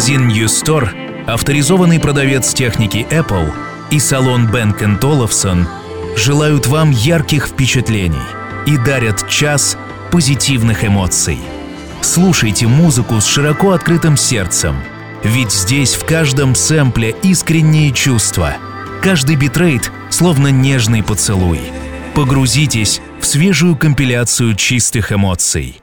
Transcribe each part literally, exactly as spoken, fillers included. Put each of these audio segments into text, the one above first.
Магазин News Store, авторизованный продавец техники Apple и салон Бенк энд Олufsen желают вам ярких впечатлений и дарят час позитивных эмоций. Слушайте музыку с широко открытым сердцем, ведь здесь в каждом сэмпле искренние чувства, каждый битрейт словно нежный поцелуй. Погрузитесь в свежую компиляцию чистых эмоций.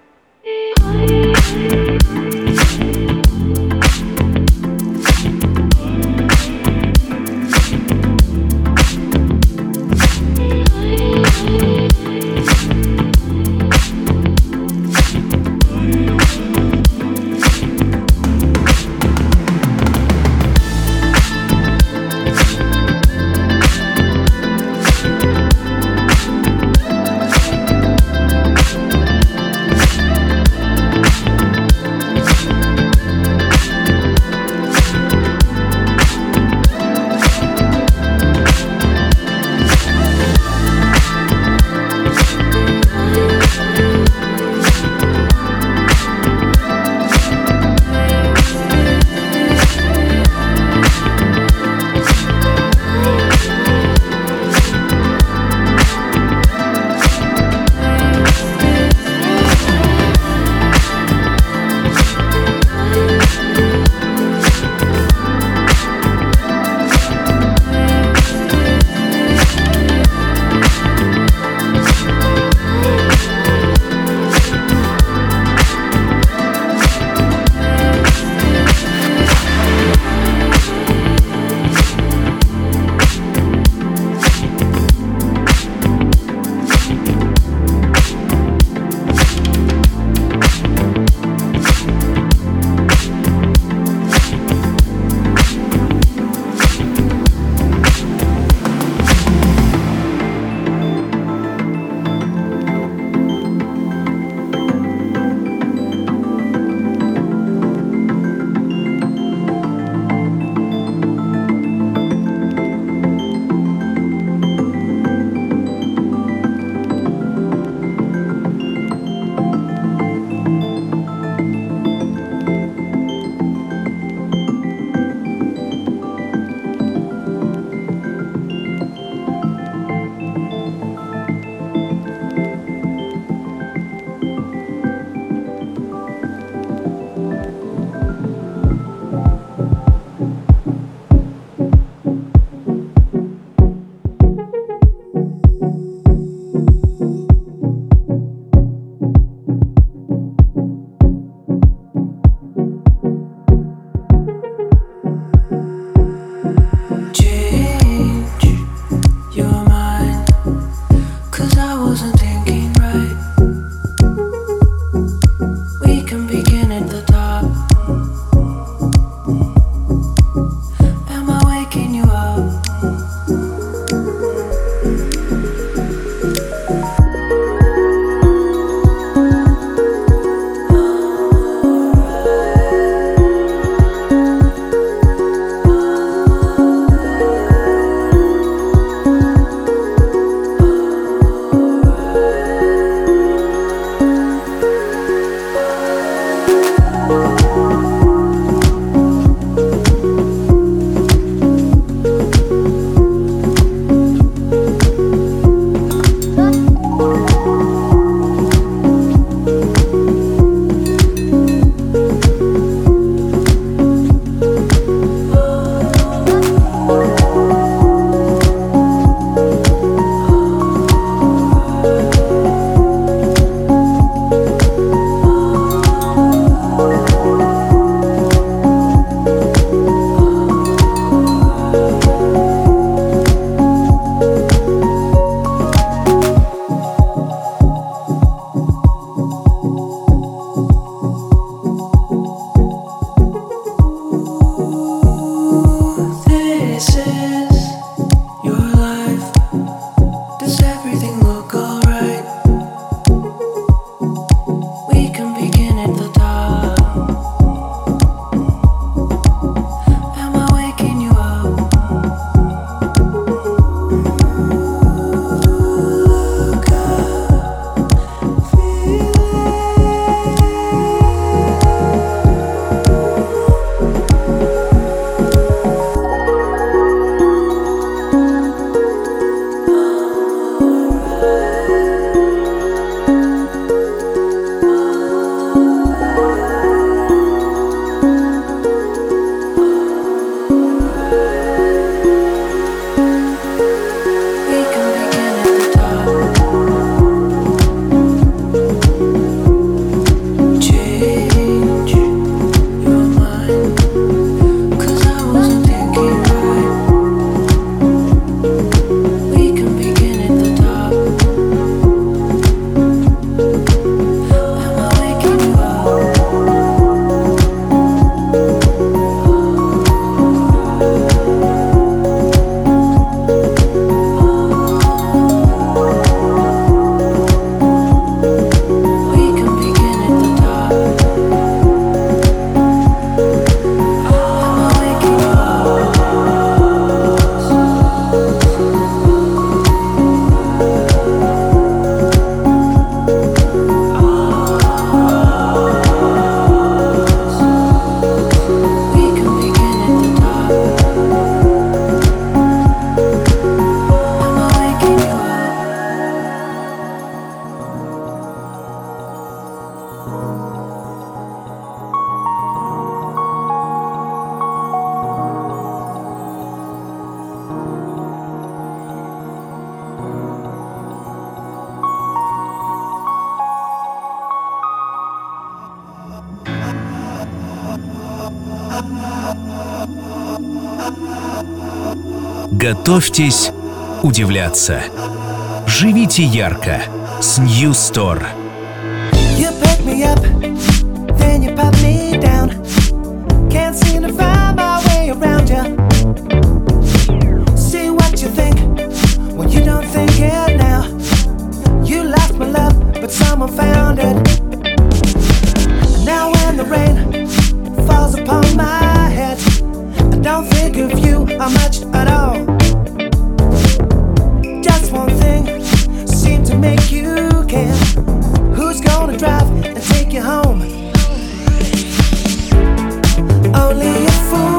Готовьтесь удивляться. Живите ярко с New Store. You pick me up, then you pop me down. Can't seem to find my way around you. See what you think when you don't think it now. You lost my love, but someone found it. And now when the rain falls upon my head, I don't think of you how much at all. Just one thing seemed to make you care. Who's gonna drive and take you home? Only a fool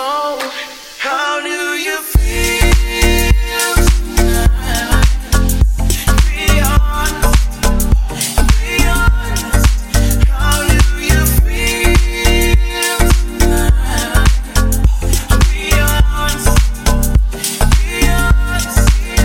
know, how do you feel tonight? Be honest, be honest. How do you feel tonight? Be honest, be honest.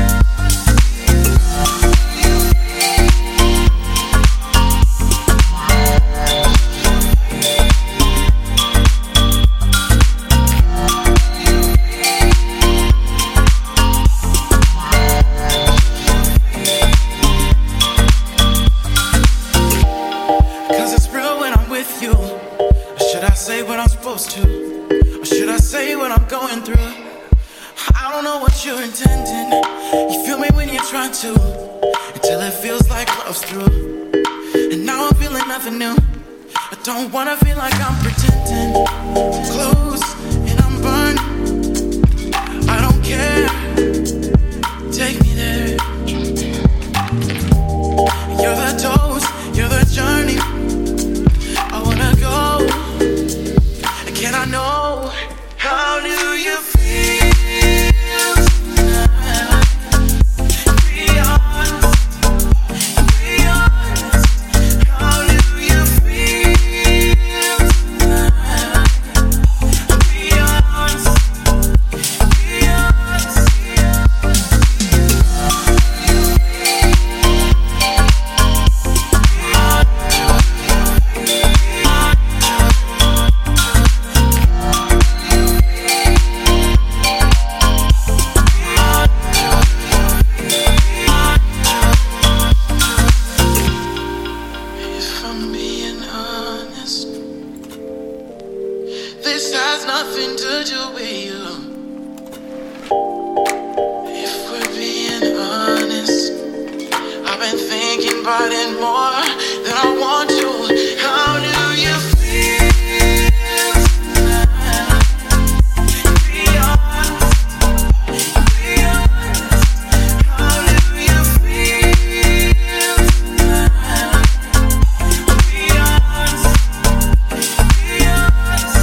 Say what I'm supposed to, or should I say what I'm going through? I don't know what you're intending. You feel me when you're trying to, until it feels like love's through. And now I'm feeling nothing new. I don't wanna feel like I'm pretending. Close and I'm burned. I don't care. Take me there. You're the dose, you're the journey. I wanna go. Can I know, how do you feel tonight? Be honest, be honest. How do you feel tonight? Be honest, be honest. This has nothing to do with you. If we're being honest, I've been thinking about it more than I want to. How do you feel tonight? Be honest, be honest. How do you feel tonight? Be honest, be honest.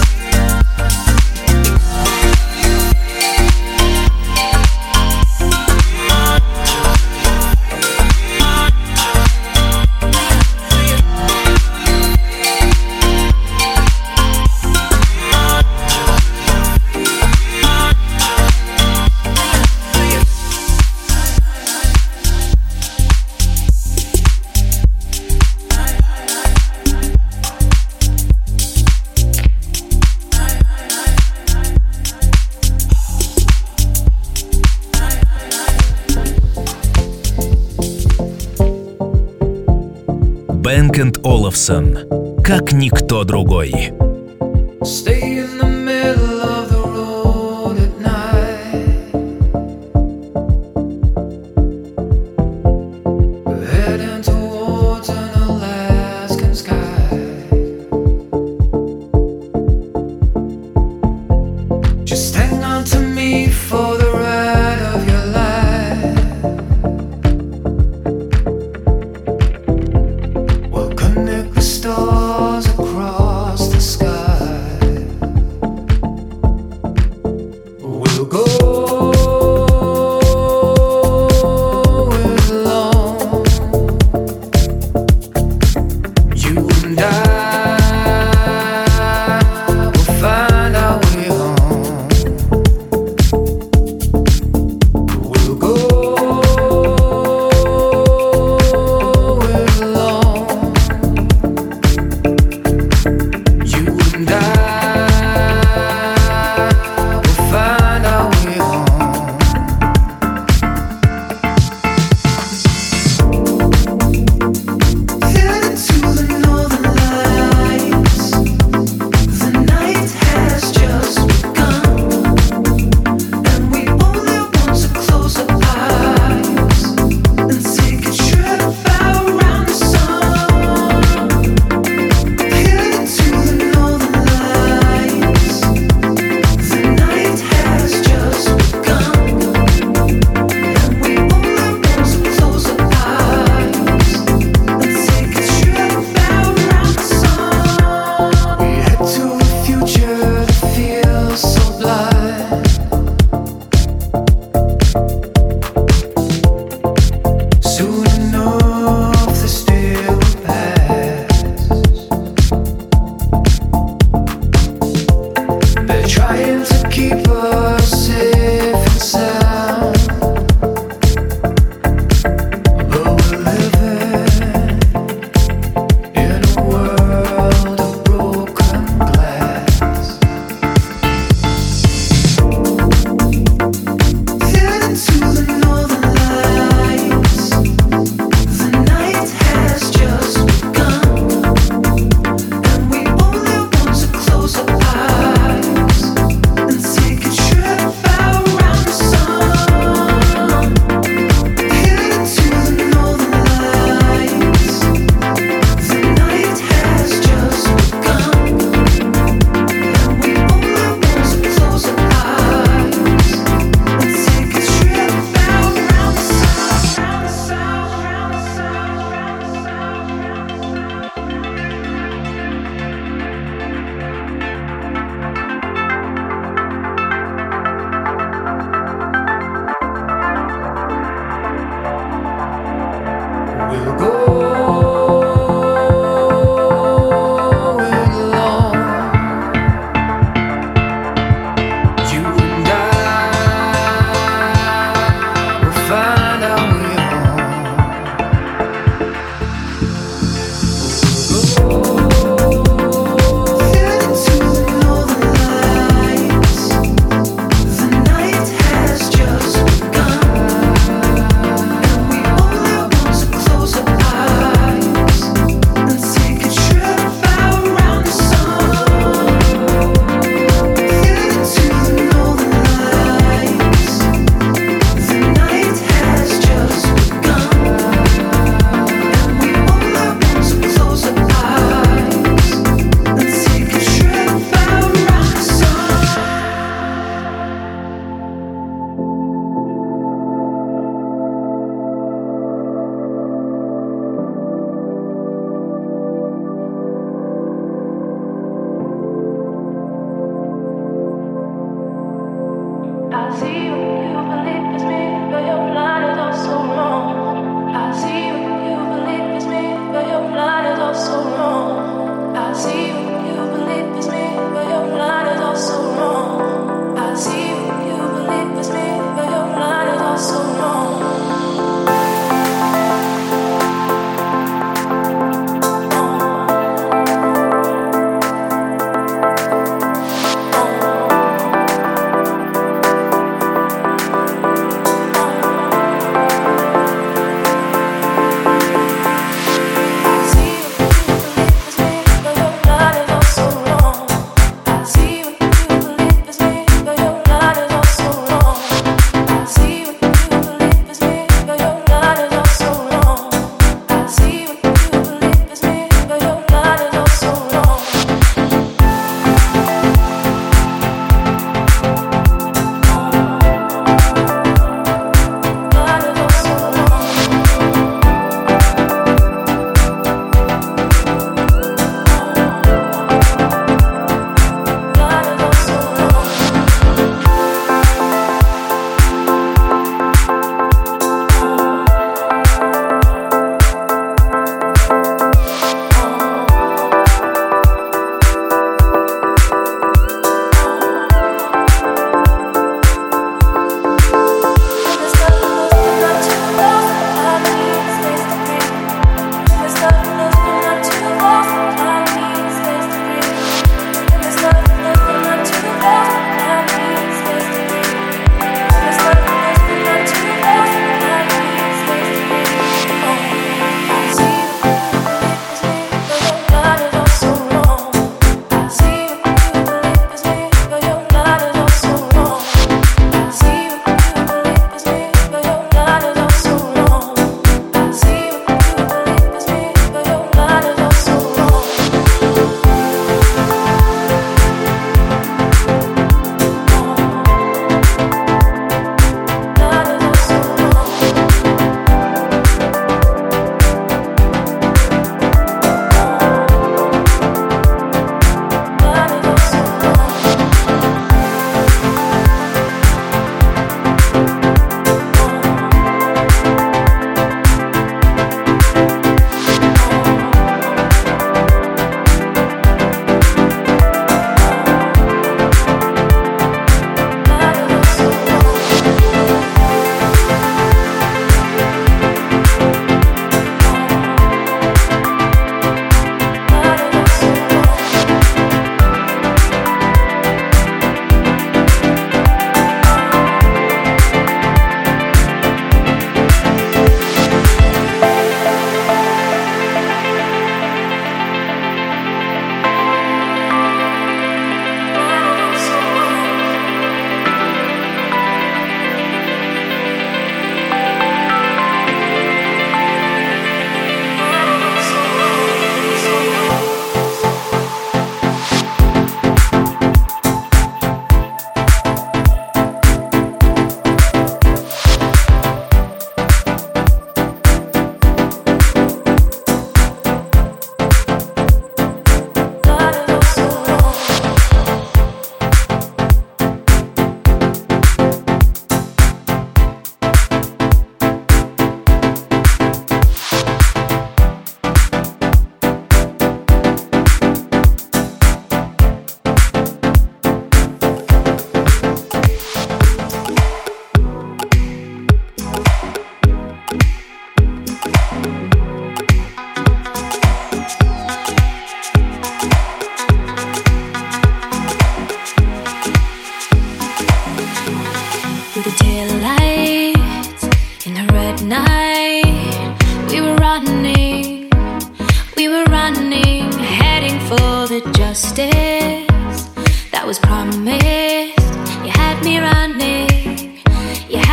Бенк энд Олафсон, как никто другой. Stay in the middle of the road at night. We're heading towards an Alaskan sky. Just hang on to me for the ride of your life. We'll connect the stars across the sky. We'll go alone, you and I will find our way home. We'll go alone, you and I will find our way home.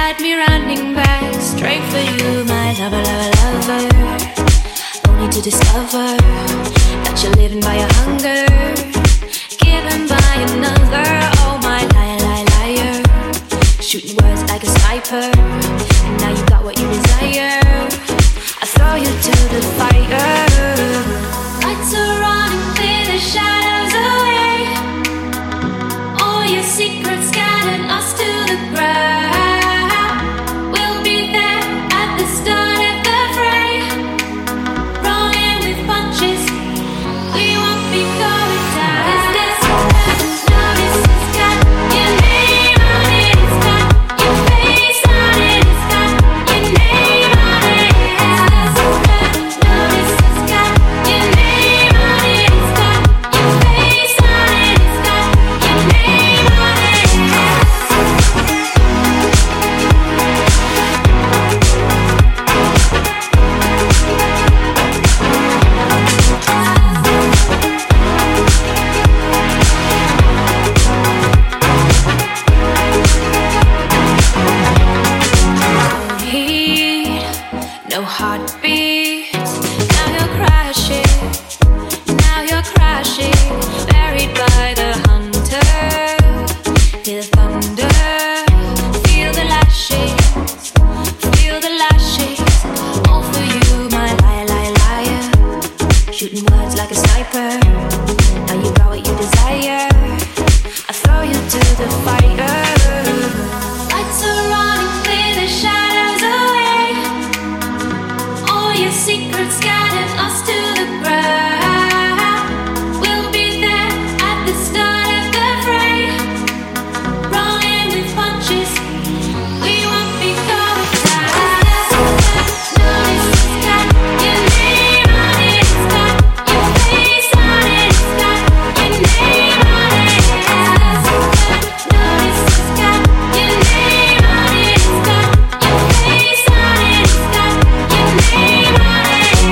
had me running back straight for you, my lover, lover, lover. Only to discover that you're living by your hunger, given by another. Oh my liar, liar, liar. Shooting words like a sniper, and now you got what you desire. I throw you to the fire. Lights are on and clear the shadows away. All your secrets scattered, us to the ground. We'll be there at the start of the fray, rolling with punches. We won't be going down. Is this that notice it's got your name on it? It's got your face on it. It's got your name on it. Is this that notice it's got your name on it? It's got your face on it. It's got your name on it. No heat, no heartbeats. Now you're crashing, now you're crashing, buried by the hunter. Hear the thunder, feel the lashings, feel the lashings. All for you, my liar, liar, liar. Shooting words like a sniper. Now you got what you desire. I throw you to the fire. Lights are on and clear the shadows away. All your secrets scattered, us to the ground. We'll be there at the start of the fray, rolling with punches. We won't be going down. Notice it's got your name on it. It's got your face on it. It's got your name on it. Notice it's got your name on it. It's got your face on it. It's got your name on it.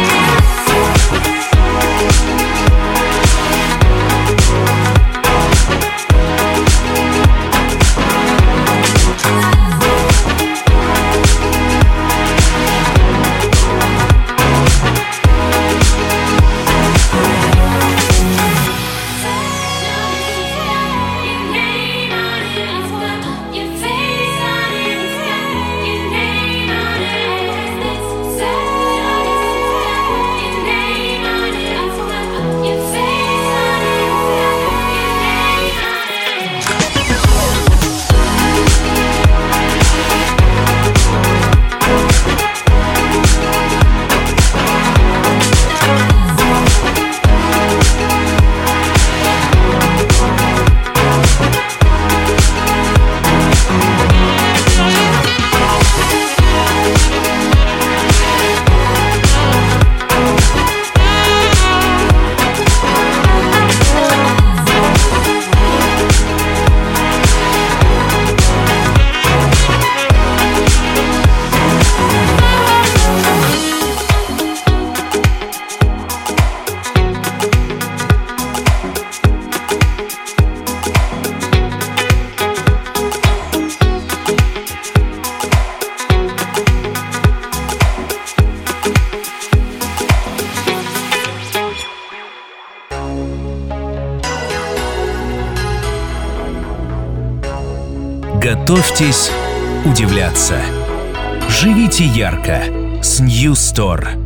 Готовьтесь удивляться. Живите ярко с New Store.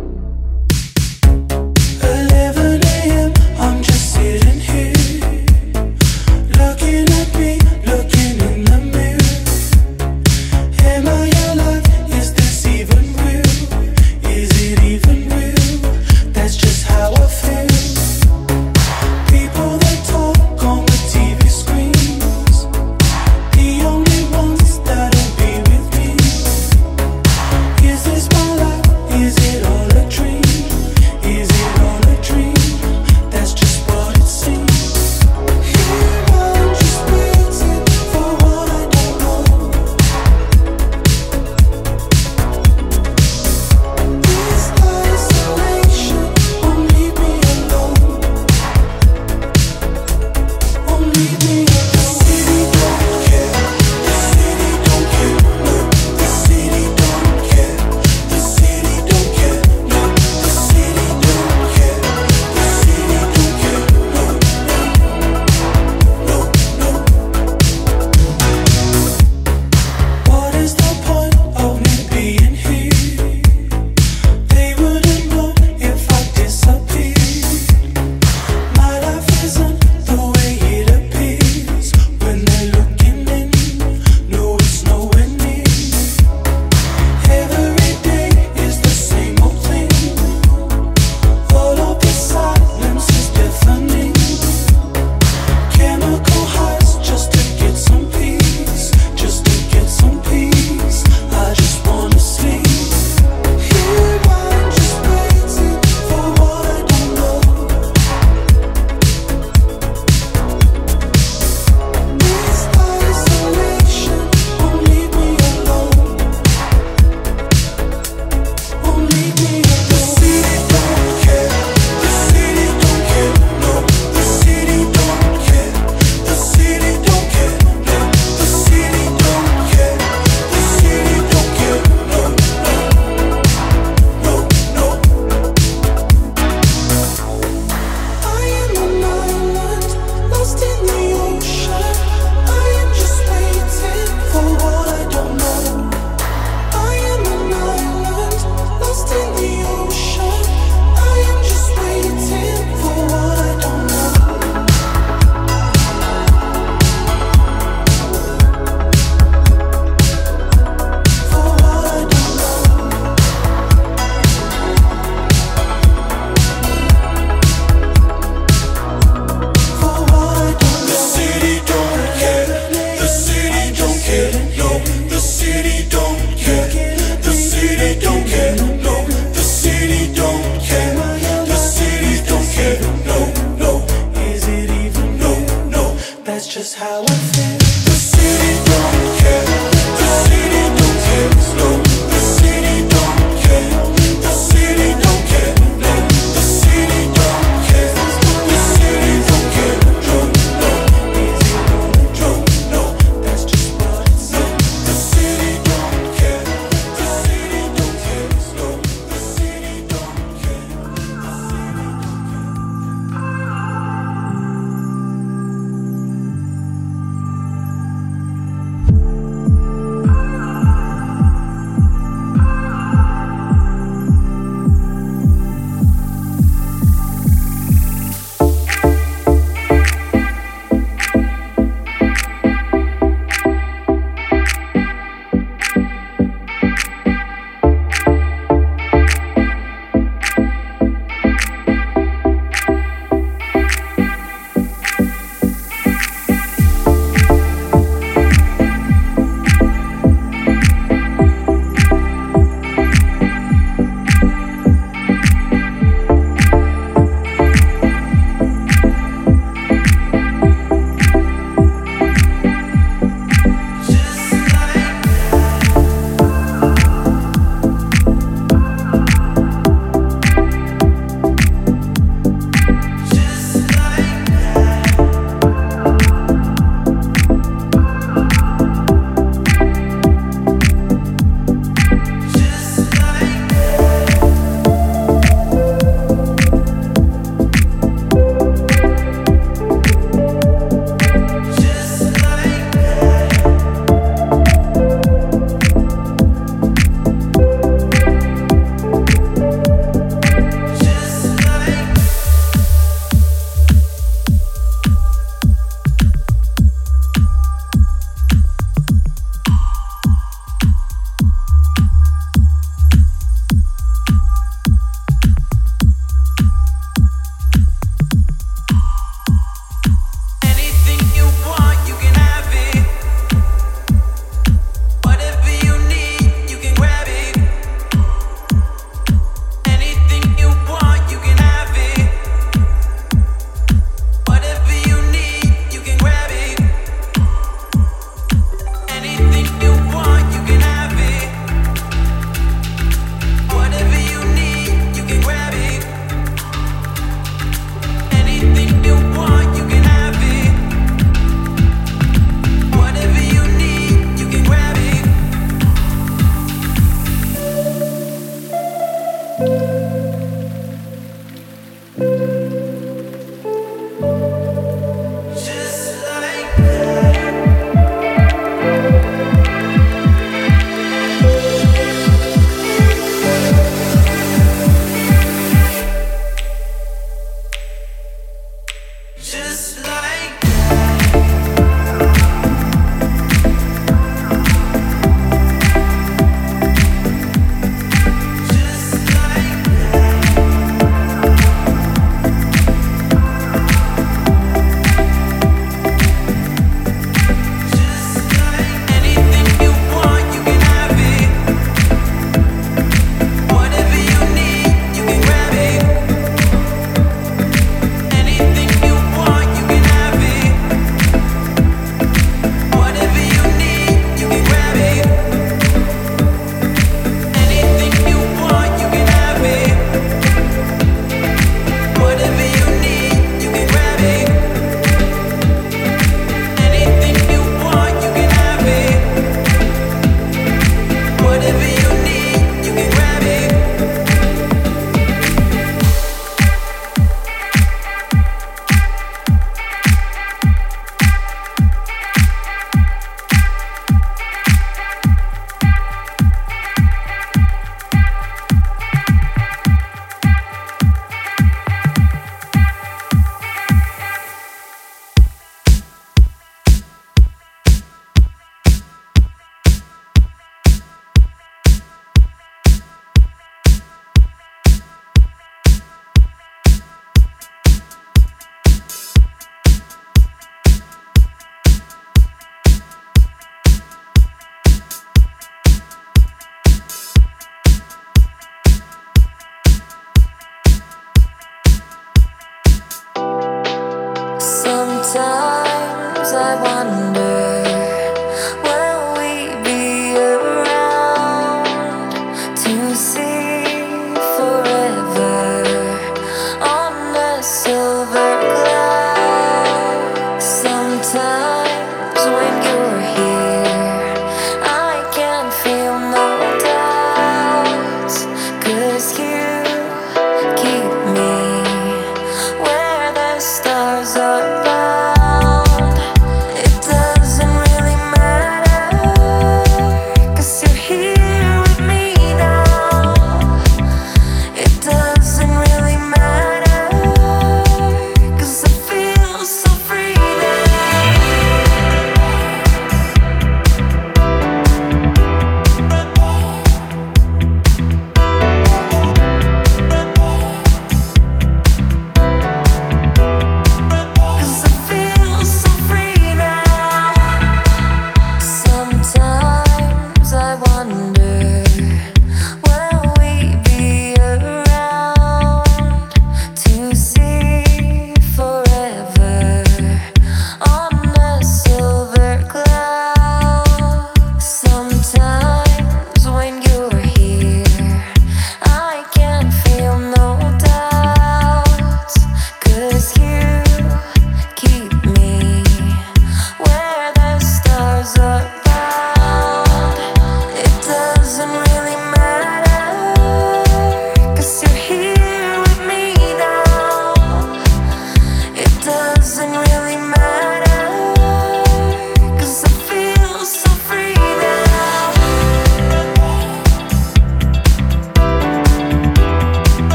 eleven a.m. I'm just sitting here, looking at me, looking in the mirror. Am I alive? Is this even real? Is it even real? That's just how I feel. People that talk on the T V screens, the only ones that'll be with me. Is this my life? Is it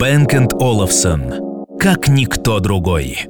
Bank энд Olufsen, как никто другой.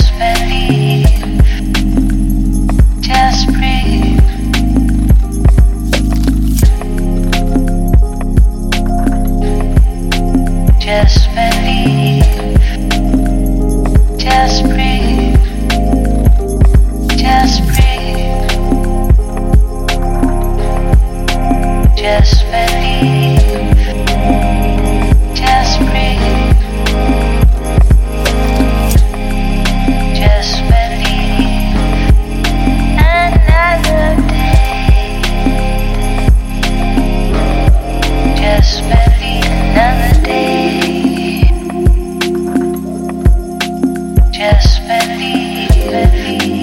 Just believe, believe.